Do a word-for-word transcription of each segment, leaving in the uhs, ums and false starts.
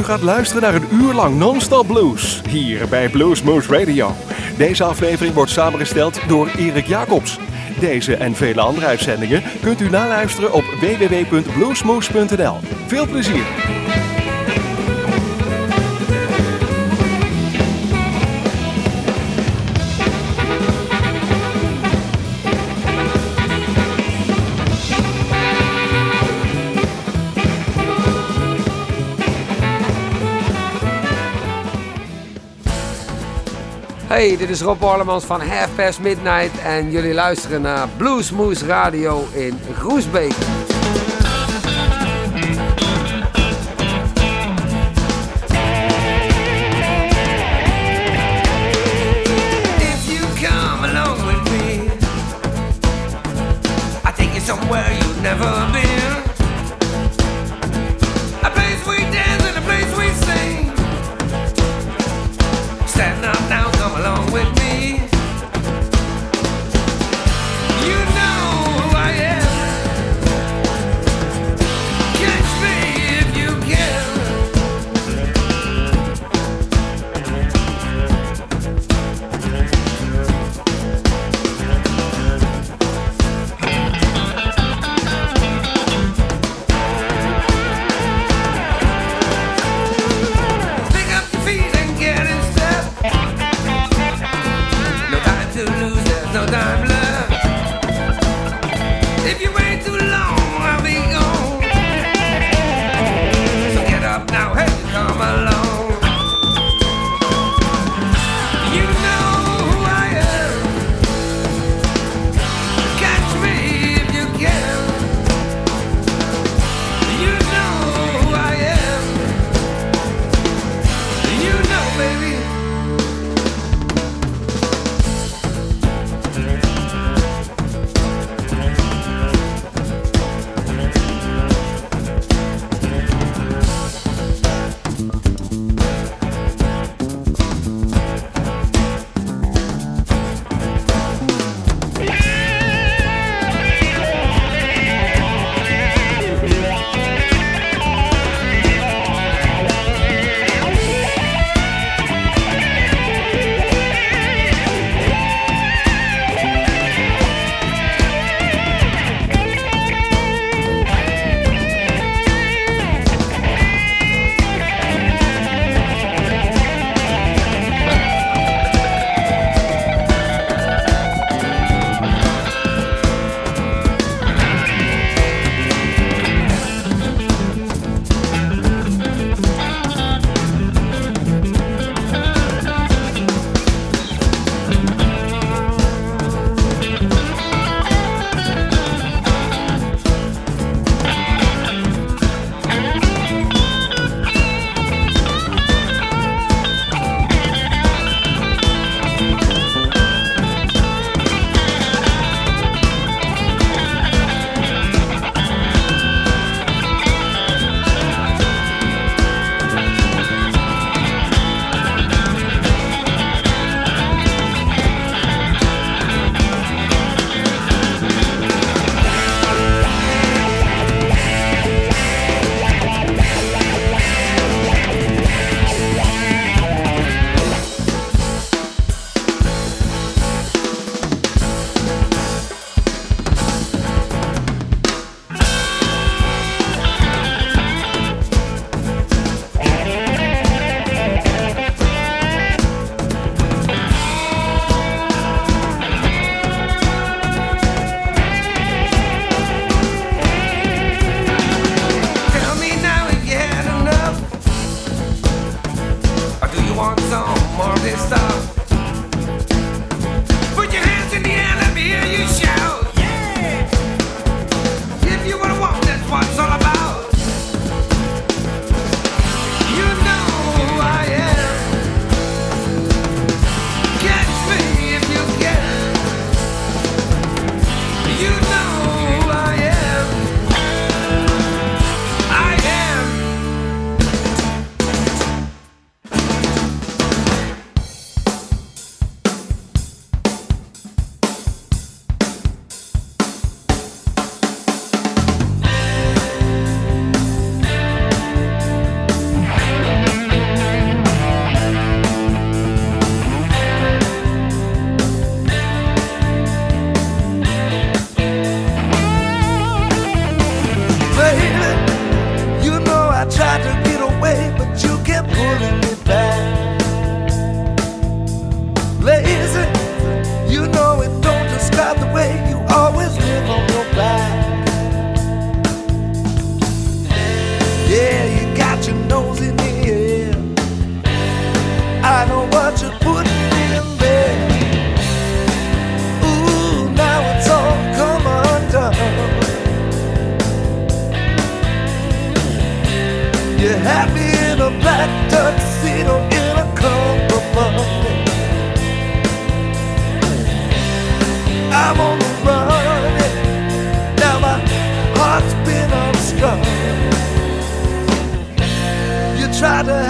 gaat luisteren naar een uur lang non-stop blues, hier bij Bluesmoose Radio. Deze aflevering wordt samengesteld door Erik Jacobs. Deze en vele andere uitzendingen kunt u naluisteren op w w w punt bluesmoose punt n l. Veel plezier! Hey, dit is Rob Orlemans van Half Past Midnight en jullie luisteren naar Bluesmoose Radio in Groesbeek. If you come along with me, I take you somewhere you've never been. A place we dance and a place we sing. Stand up now, come along with me. You know who I am. Catch me if you can. Pick up your feet and get in step. No time to lose, there's no time left. If you wait too long, I'll be gone. So get up now, hey, come along. You know who I am. Catch me if you can. You know who I am. You know, baby.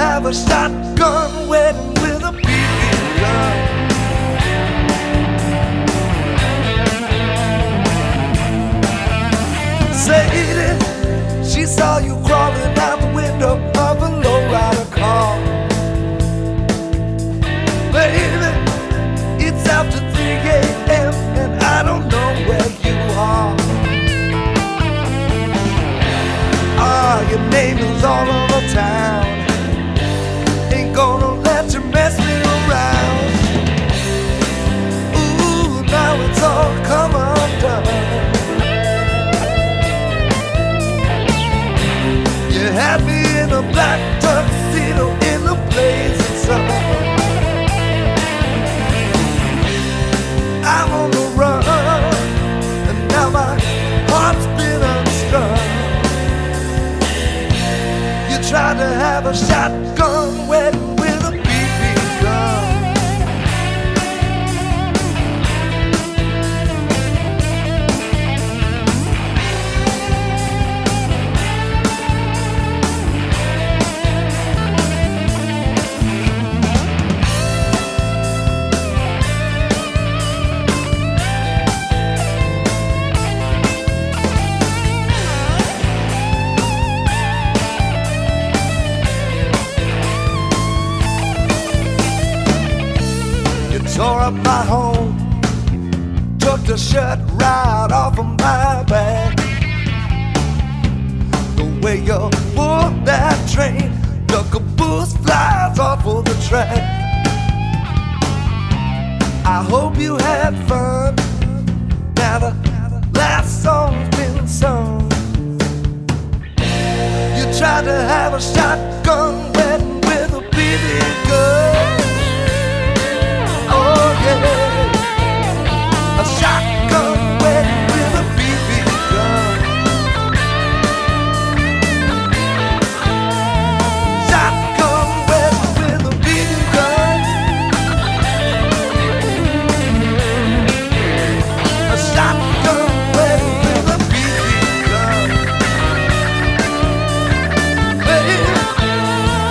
have a shotgun wedding with a B B gun. Sadie, she saw you crawling out the window of a lowrider car. Baby, it's after three a.m. and I don't know where you are. Ah, your name is all over town. Ain't gonna let you mess me around. Ooh, now it's all come undone. You had me in a black tuxedo in the blazing sun. I'm on the run, and now my heart's been unstrung. You tried to have a shotgun wedding with a B B gun. Tore up my home, took the shirt right off of my back. The way you pulled that train, the caboose flies off of the track. I hope you had fun. Now the last song's been sung. You tried to have a shotgun wedding with a B B gun. Oh yeah, a shotgun wedding with a B B gun. Shotgun wedding with a B B gun. A shotgun wedding with a B B gun. Baby,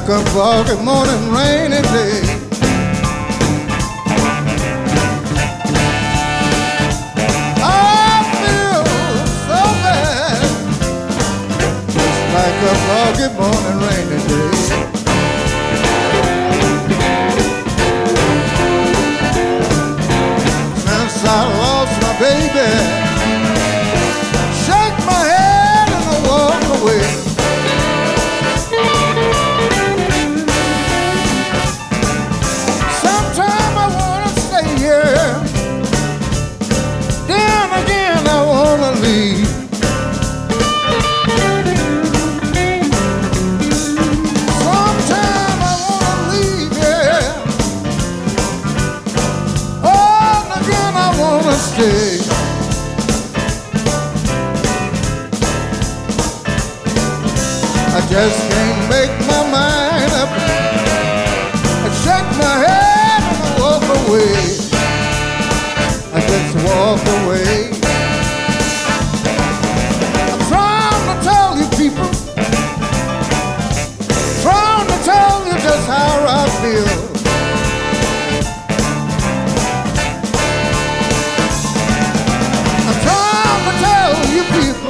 like a foggy morning rainy day. I feel so bad, just like a foggy morning rainy day. Since I lost my baby, shake my head and I walk away. Sometime I wanna stay here, then again I wanna leave. Sometime I wanna leave, yeah, oh, and again I wanna stay. I just can't make my mind up. I shake my head and I walk away. I just walk away. I'm trying to tell you people, trying to tell you just how I feel. I'm trying to tell you people,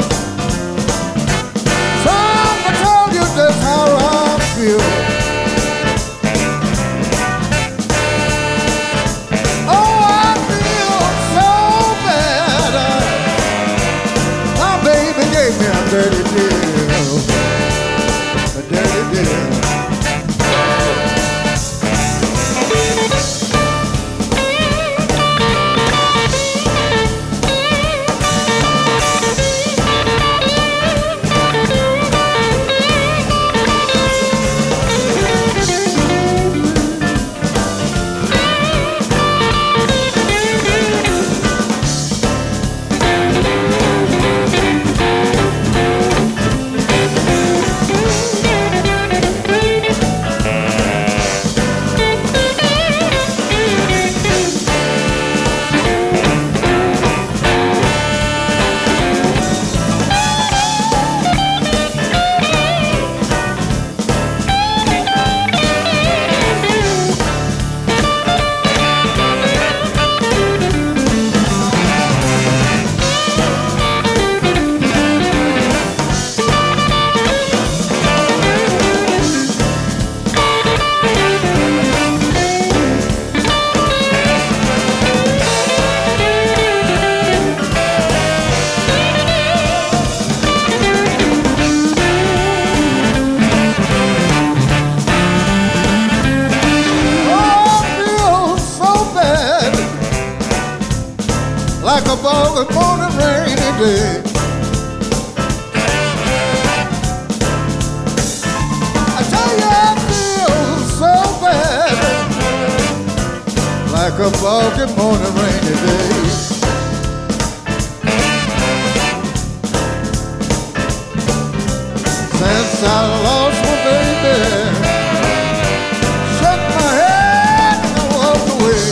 trying to tell you just how I feel. Oh, I feel so bad. My baby gave me a dirty deal, a dirty deal. Like a foggy morning rainy day. I tell you I feel so bad, like a foggy morning rainy day. Since I lost my baby, shake my head and I walk away.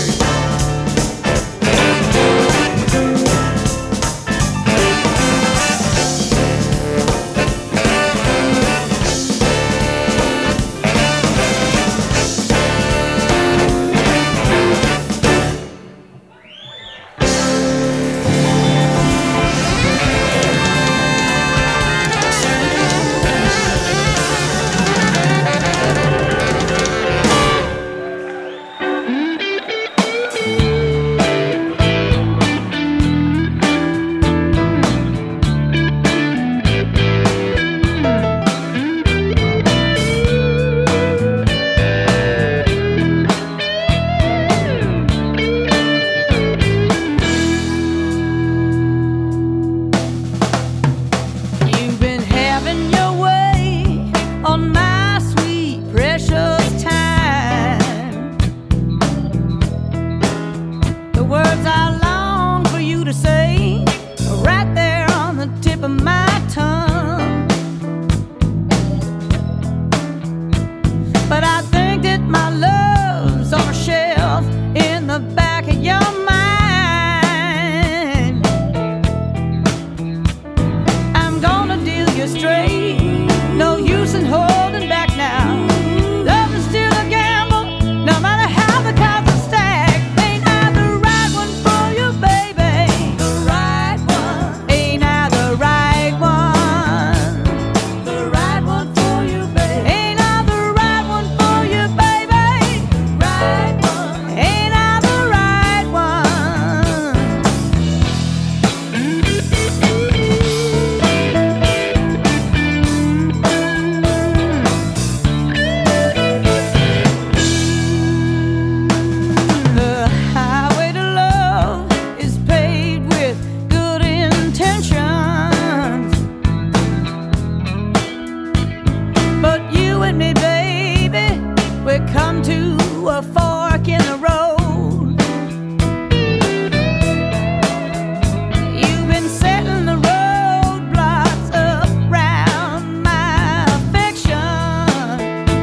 we come to a fork in the road. You've been setting the roadblocks up round my affection,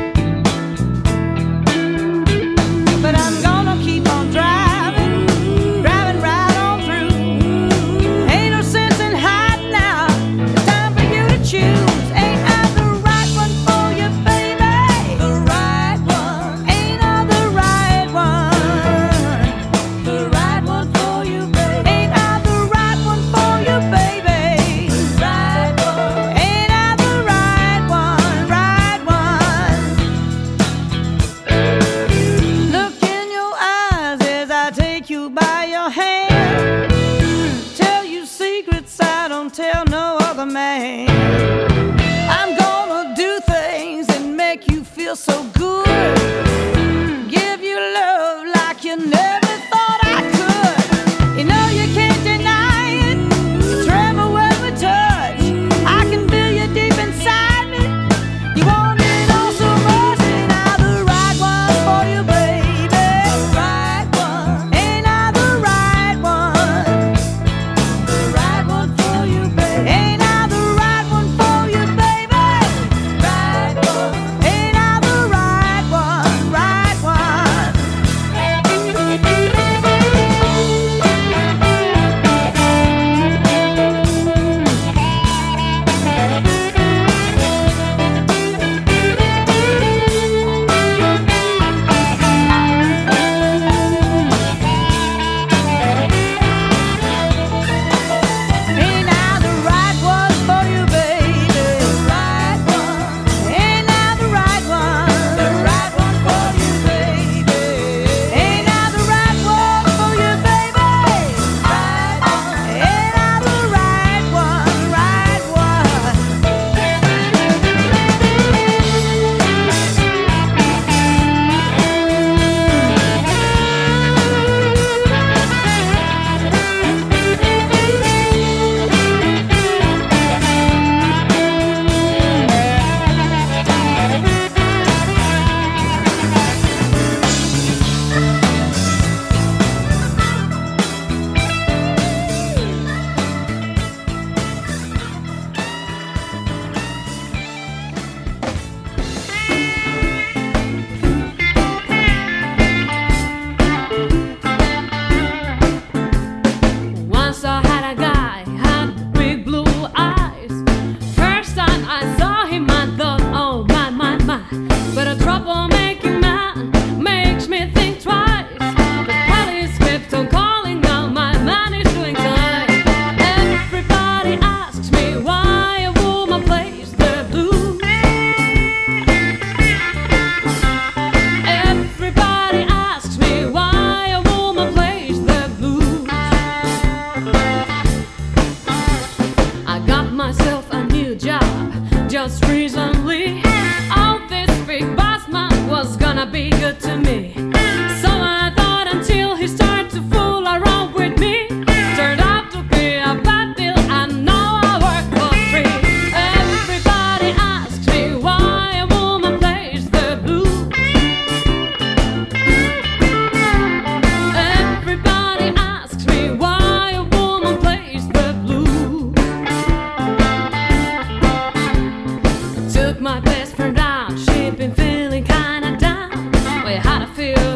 but I'm gonna keep on driving, driving right on through. Ain't no sense in hiding now. It's time for you to choose. Ain't I the right one for you, baby? The right one. Ain't I the right one? The right one for you, baby. Ain't I the right one for you, baby? Right one. Ain't I the right one? Right one. Look in your eyes as I take you by your hand. Tell you secrets I don't tell no other man. I'm gonna do things that make you feel so good. Give you love like you never thought I could. You know you can't deny it. You tremble when we touch. I can feel you deep inside me. You want it all so much. Ain't I the right one for you, baby? Right one. Ain't I the right one? The right one for you, baby. Ain't I the right one for you, baby? Right one. Ain't I the right one? Right one. Ain't I the right one for you, baby? Right one. Ain't I the right one? The right one for you, baby. Ain't I the right one for you, baby? Right one. Ain't I the right one? Right one. Once I had a guy, had big blue eyes. First time I saw him, I thought, oh my, my, my. But a troublemaking man makes me think twice. The police kept on calling, now my man is doing time. Everybody asks me why a woman plays the blues. Everybody asks me why a woman plays the blues. I got myself a new job just recently. Oh, this big boss man was gonna be good to me. So I thought until he started to fool around with me. Turned out to be a bad deal, and now I work for free. Everybody asks me why a woman plays the blues. Everybody asks me why a woman plays the blues. Took my best friend out, she'd been feeling kinda down. We had a few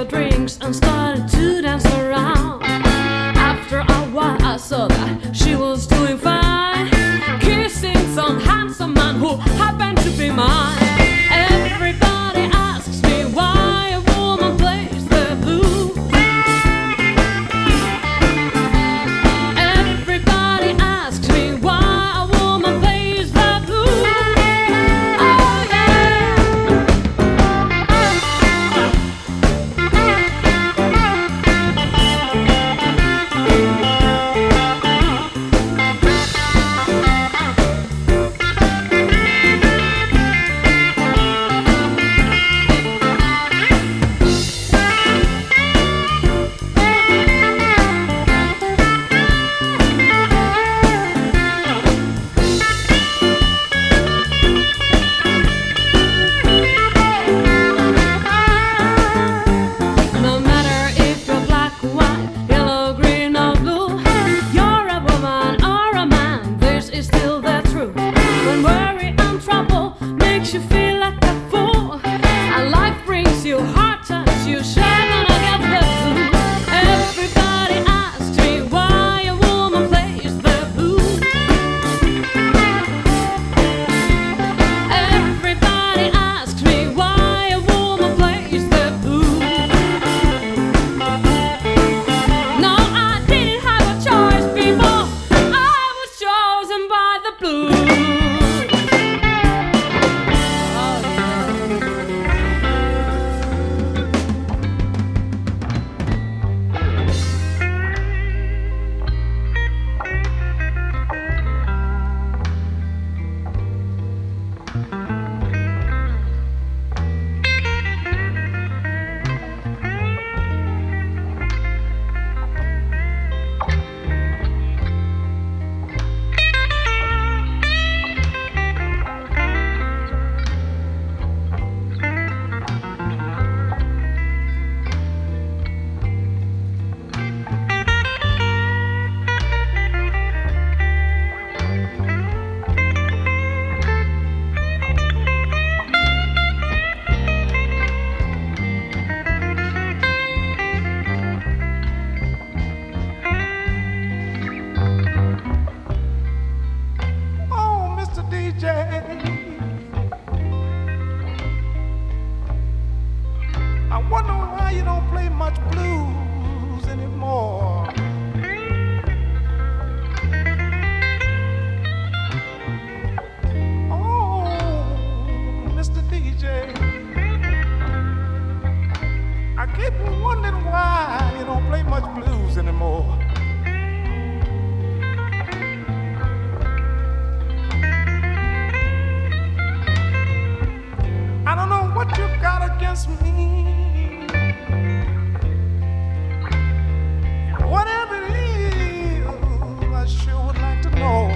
you sure gonna get the blues? Everybody asks me why a woman plays the blues. Everybody asks me why a woman plays the blues. No, I didn't have a choice, people. I was chosen by the blues. Oh, Mister D J, I wonder why you don't play much blues anymore. Oh, Mister D J, I keep wondering why you don't play much blues anymore. I don't know what you got against me. Whatever it is, I sure would like to know.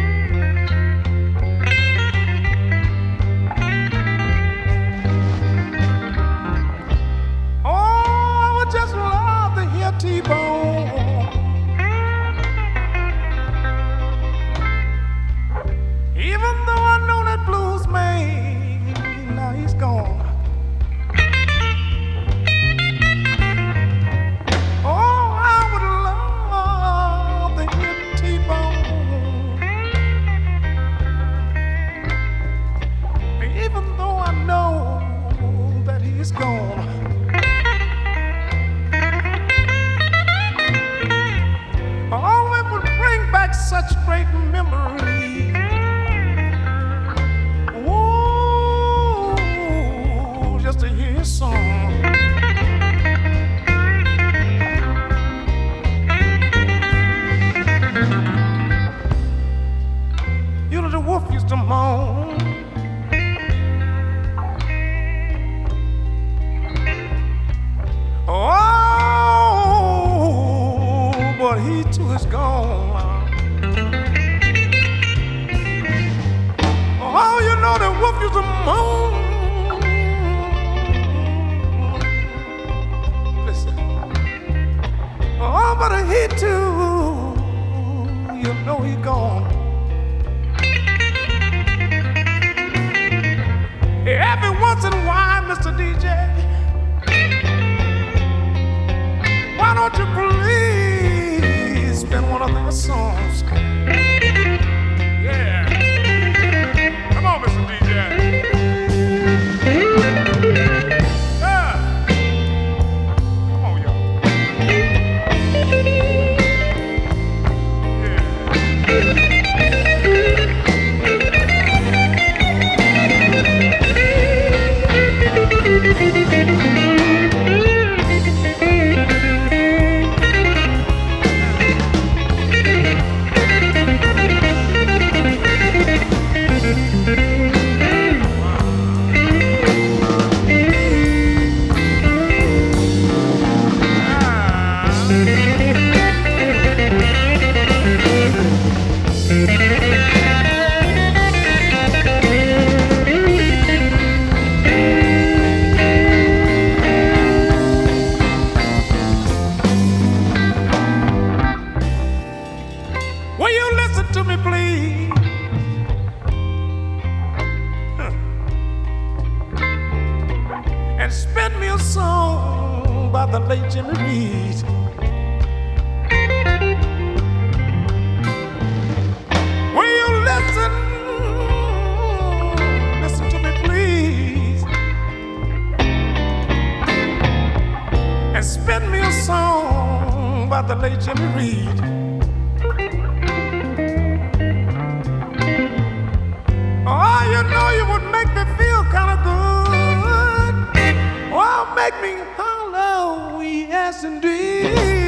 Oh, I would just love to hear T-Bone. Even though I know that blues man, now he's gone. Oh, I would love to hear T-Bone. Even though I know that he's gone. Oh, it would bring back such great memories. Ooh, just to hear his song. You know the wolf used to moan. Oh, but he too is gone. Oh, you know the wolf used to moan. Listen. Oh, but he too, you know he gone. Every once in a while, Mister D J, why don't you please spin one of their songs? Yeah. Come on, Mister D J. Yeah. Come on, y'all. by the late Jimmy Reed. Will you listen, listen to me please, and spin me a song by the late Jimmy Reed. Oh, you know you would make me feel kind of good. Oh, make me holler, yes indeed.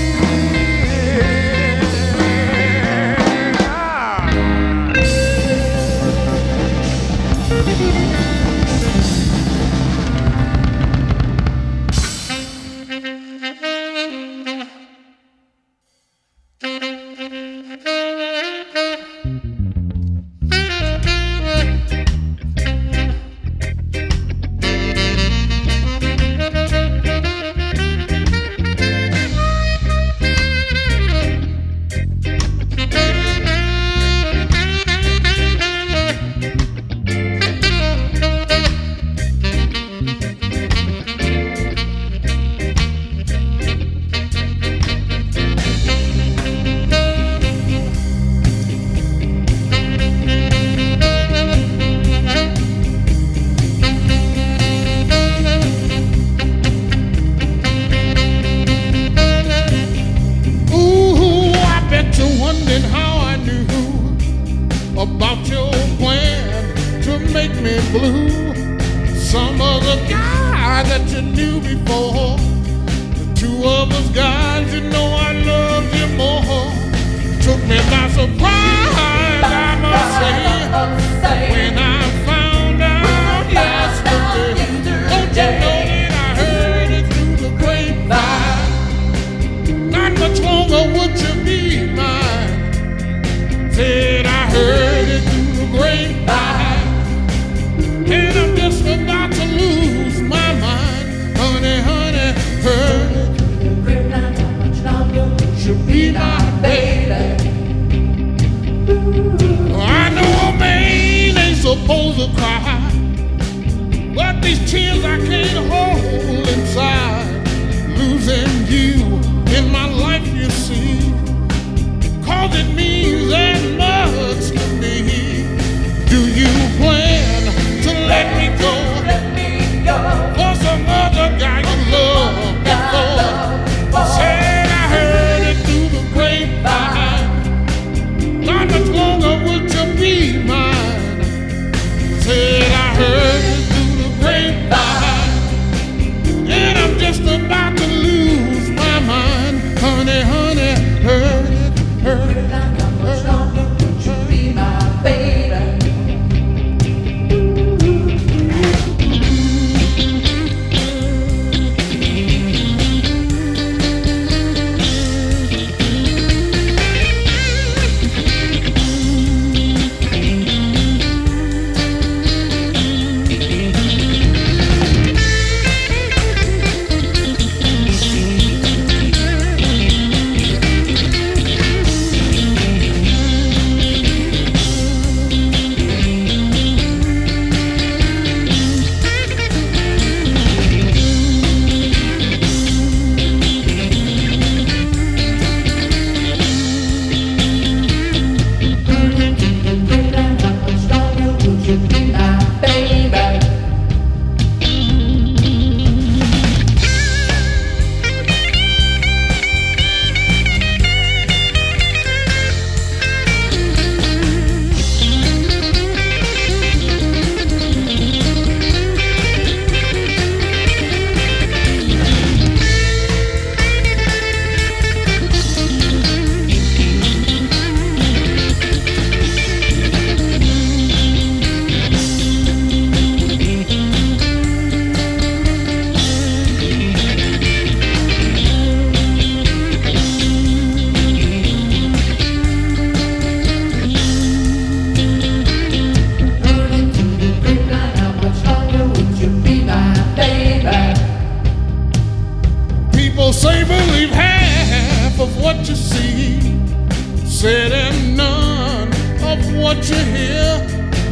said and none of what you hear.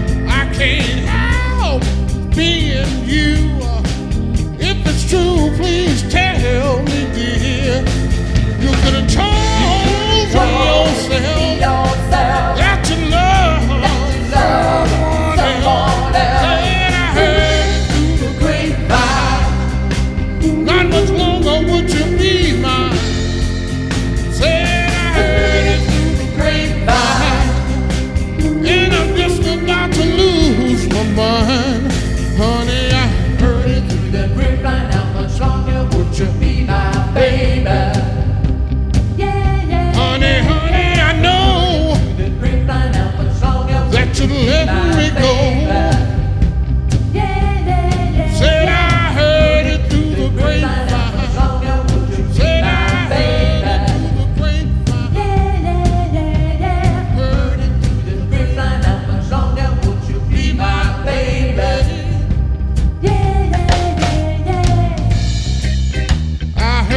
I can't help being you. If it's true, please tell not much longer would you be mine. Said I heard it through the grapevine, and I'm just about to lose my mind. Honey, I heard it through the grapevine. How much longer would you be my baby? Yeah, yeah. Honey, honey, I know that you let me go. Said I heard it through the grapevine. Said I heard it through the grapevine. Heard it through the grapevine. How much longer would you be my baby? I heard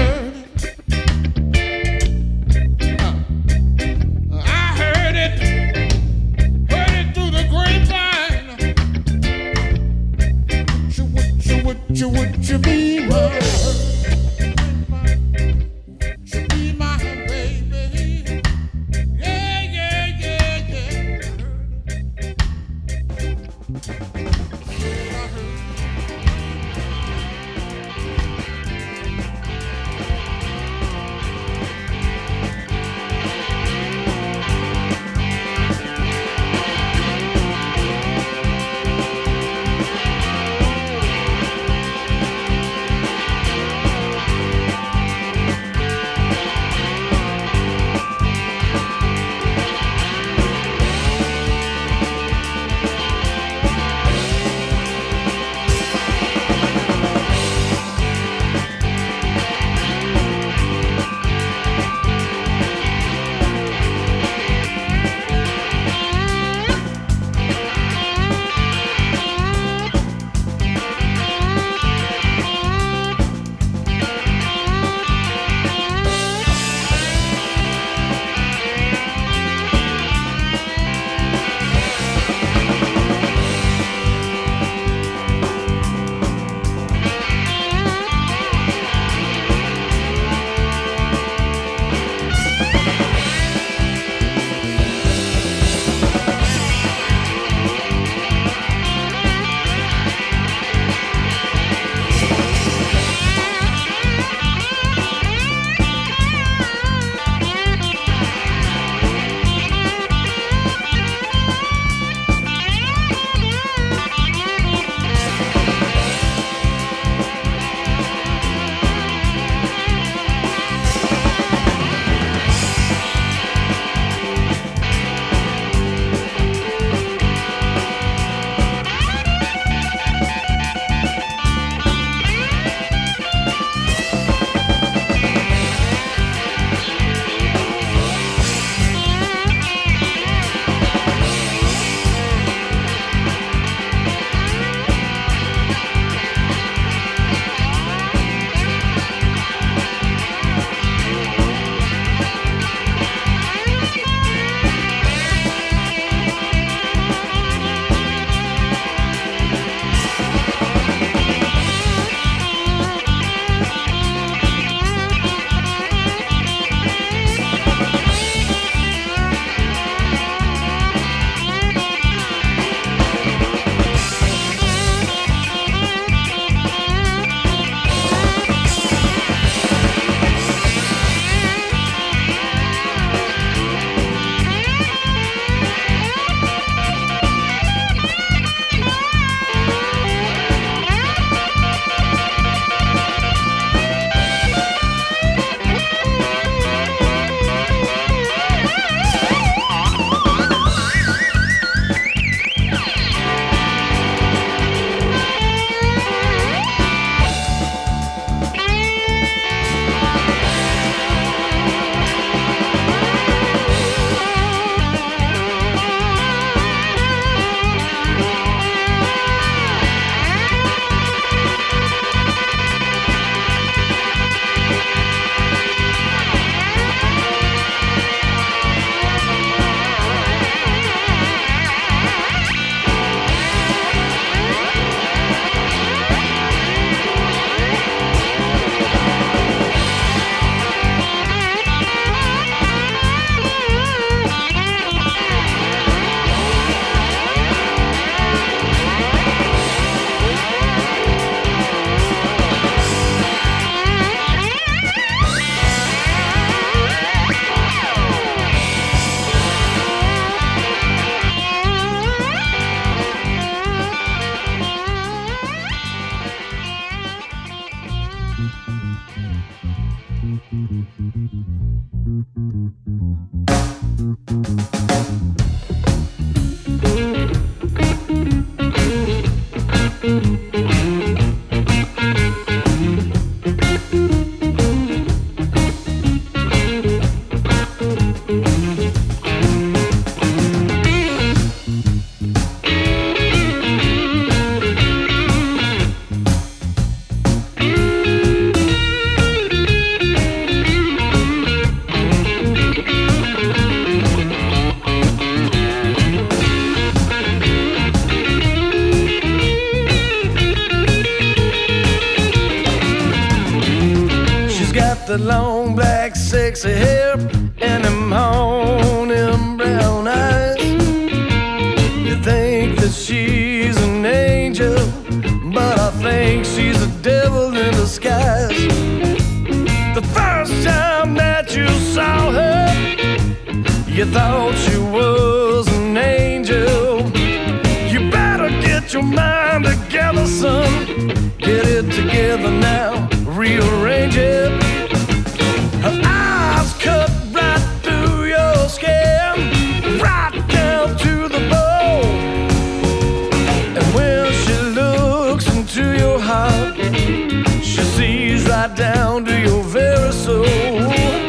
The long black sexy hair and them haunting brown eyes. You think that she's an angel, but I think she's a devil in disguise. The first time that you saw her, you thought she was an angel. You better get your mind together, son. Get it together now, rearrange it. Her eyes cut right through your skin, right down to the bone. And when she looks into your heart, she sees right down to your very soul.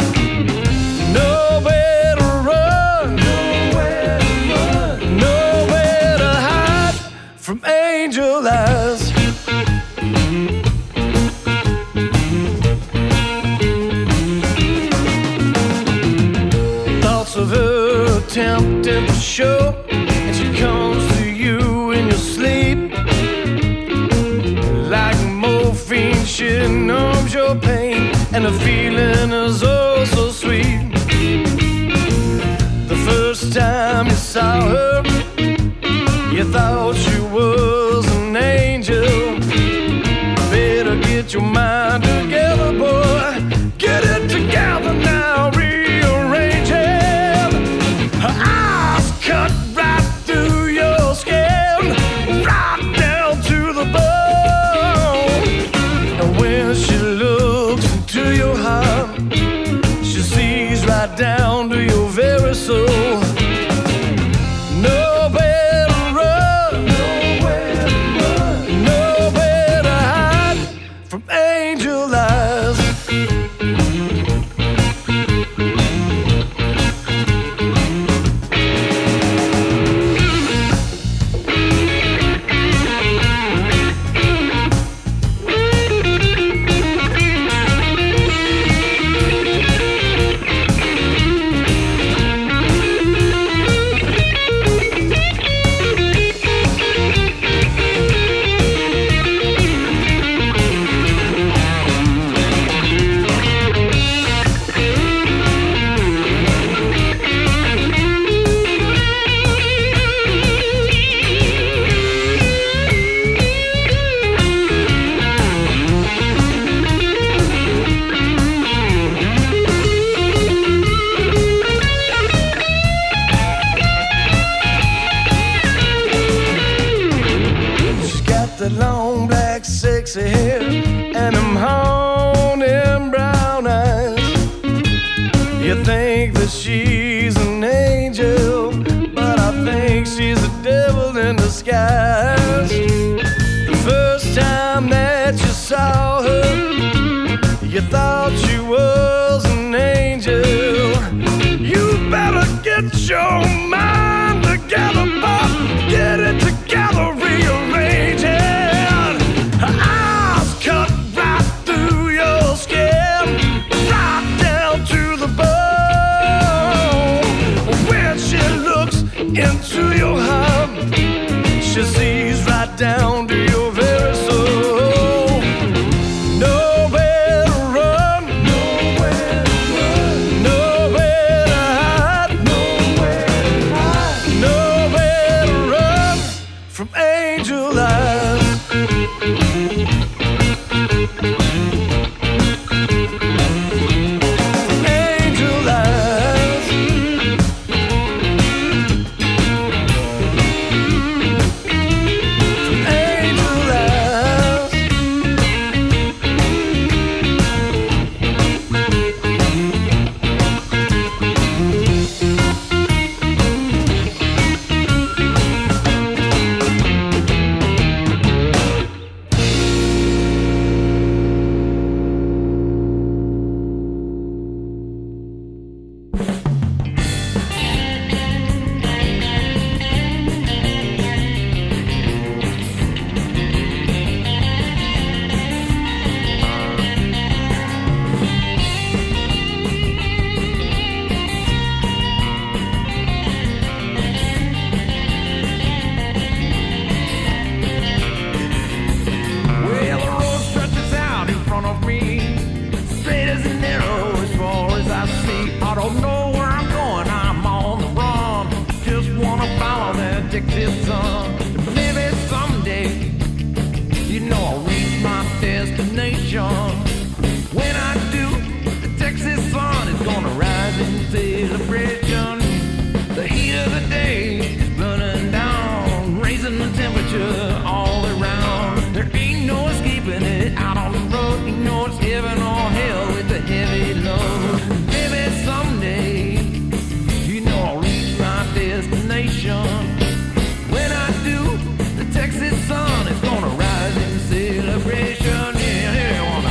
Nowhere to run, nowhere to run, nowhere to hide from angel eyes. Of her attempting to show, and she comes to you in your sleep. Like morphine, she numbs your pain, and the feeling is oh so sweet. The first time you saw her, you thought she was an angel. Better get your mind together, boy. Get it together now, rearrange it. Her eyes cut right through your skin, right down to the bone. And when she looks into your heart, she sees right down to your very soul. Nowhere to run, nowhere to run, nowhere to hide from angel eyes. Sexy hair and them haunting brown eyes. You think that she's an angel, but I think she's a devil in disguise. The first time that you saw her, you thought she was an angel. You better get your mind together, Bob. Get it together, rearrange it. Into your heart, she sees right down to your very soul. Nowhere to run, nowhere to run, nowhere to hide, nowhere to celebration. The heat of the day is burning down, raising the temperature all around. There ain't no escaping it out on the road. You know it's heaven or hell with the heavy load. Maybe someday, you know I'll reach my destination. When I do, the Texas sun is gonna rise in celebration. Yeah, yeah, wanna.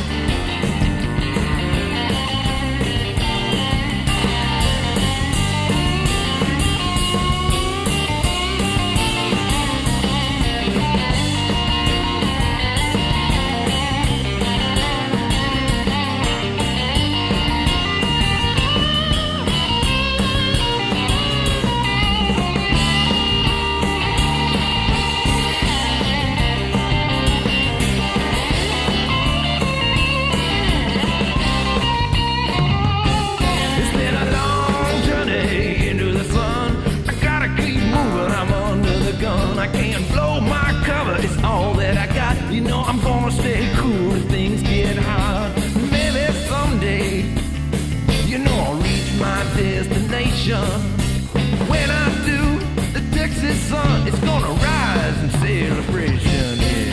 I can't blow my cover, it's all that I got. You know I'm gonna stay cool if things get hot. Maybe someday, you know I'll reach my destination. When I do, the Texas sun is gonna rise in celebration, yeah.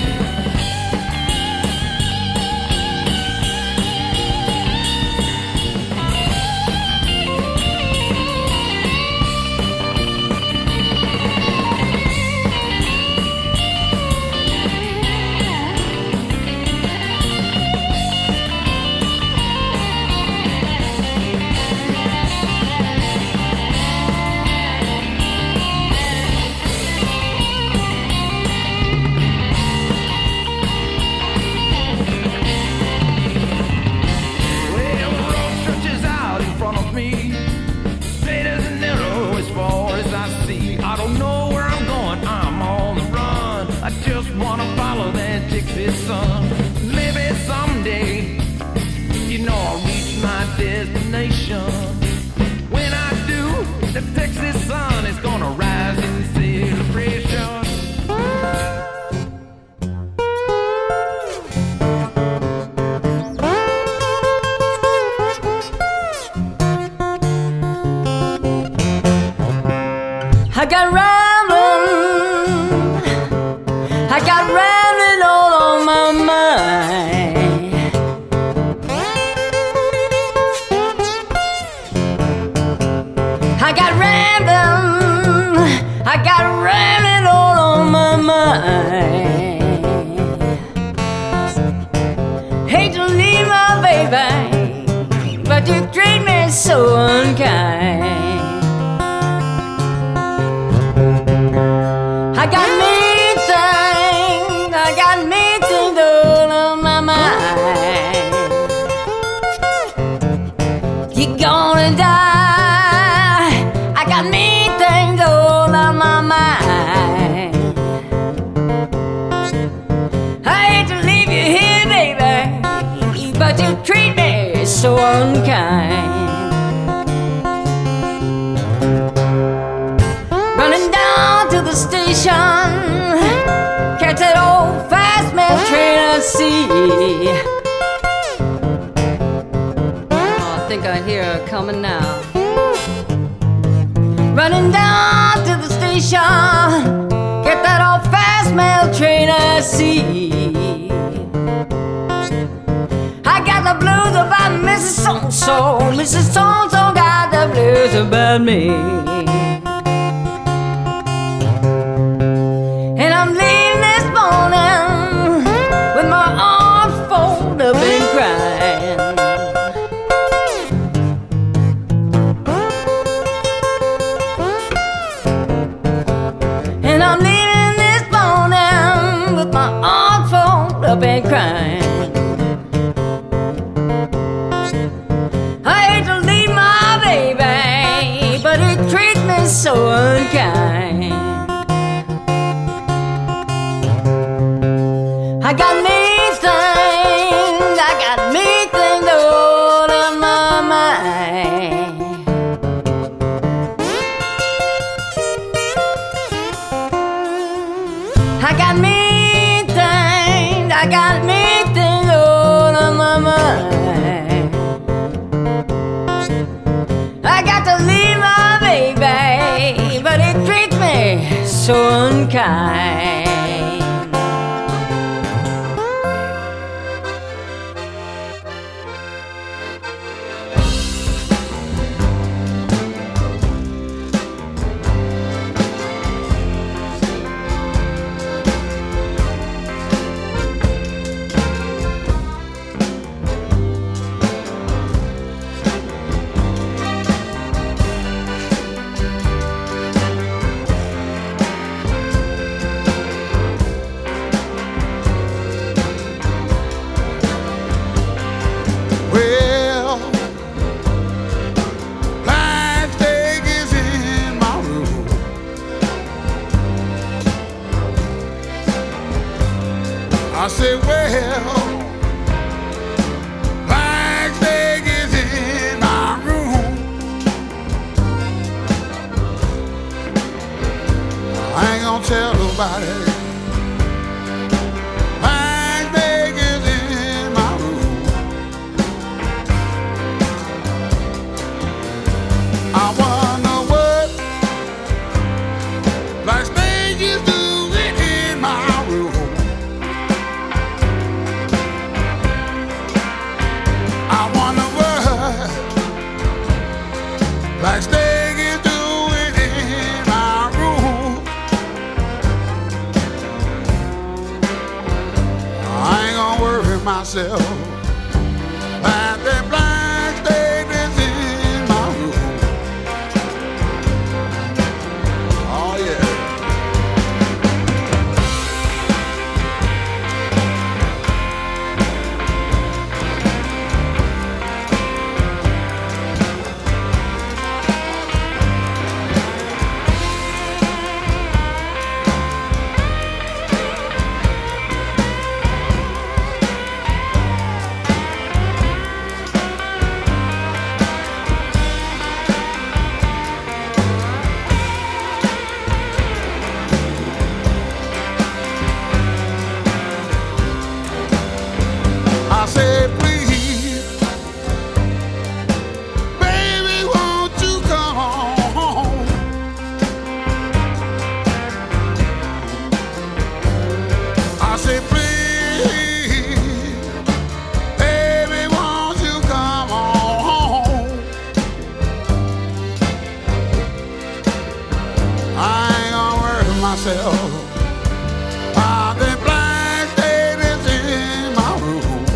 Sun. Maybe someday, you know I'll reach my destination. When I do, the Texas sun is gonna rise in celebration. I got rambling, I got rambling all on my mind. I got rambling, I got rambling all on my mind. Hate to leave my baby, but you treat me so unkind. I got me things, I got me things all on my mind. You're gonna die, I got me things all on my mind. I hate to leave you here, baby, but you treat me so unkind. Running down to the station, catch that old fast mail train I see. Oh, I think I hear her coming now. Running down to the station, get that old fast mail train I see. I got the blues about Missus So-and-so, Missus So-and-so got the blues about me. And I'm leaving this morning with my arms folded up and crying. And I'm leaving this morning with my arms folded up and crying. I hate to leave my baby, but he treats me so unkind. I got me things, I got me things all on my mind. I got me things, I got me things all on my mind. I got time. I say, well, Black Snake is in my room. I ain't gonna tell nobody. Black Snake is in my room. I wonder what Black Snake is doing in my room. Black Snake is doing in my room. I ain't gonna worry myself. Like that Black Snake is in my room. Oh yeah. I said, please, baby, won't you come home? I said, please, baby, won't you come home? I ain't gonna worry myself. I think Black Snake is in my room.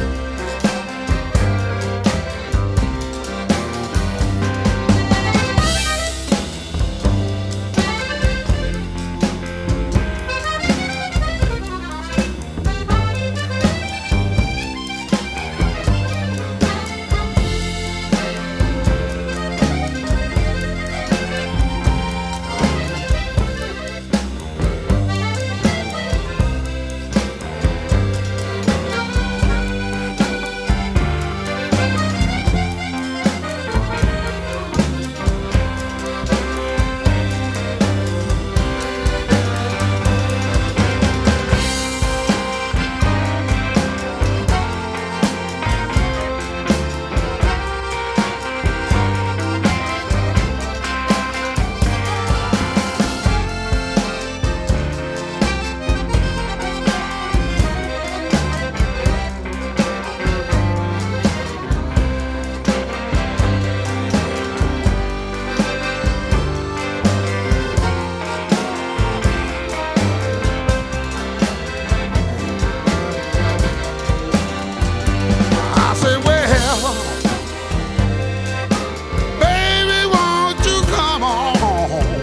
I said, well, baby, won't you come home?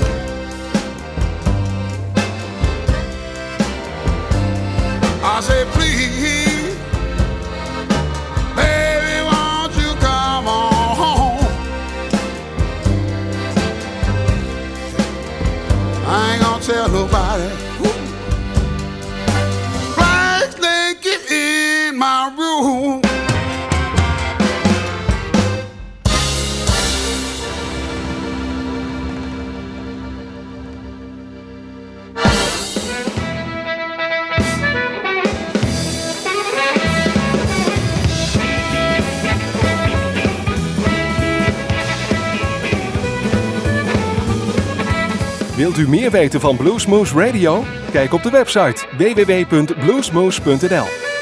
I said, please, baby, won't you come home? I ain't gonna tell nobody. Black Snake is in my room. Wilt u meer weten van Bluesmoose Radio? Kijk op de website w w w punt bluesmoose punt n l.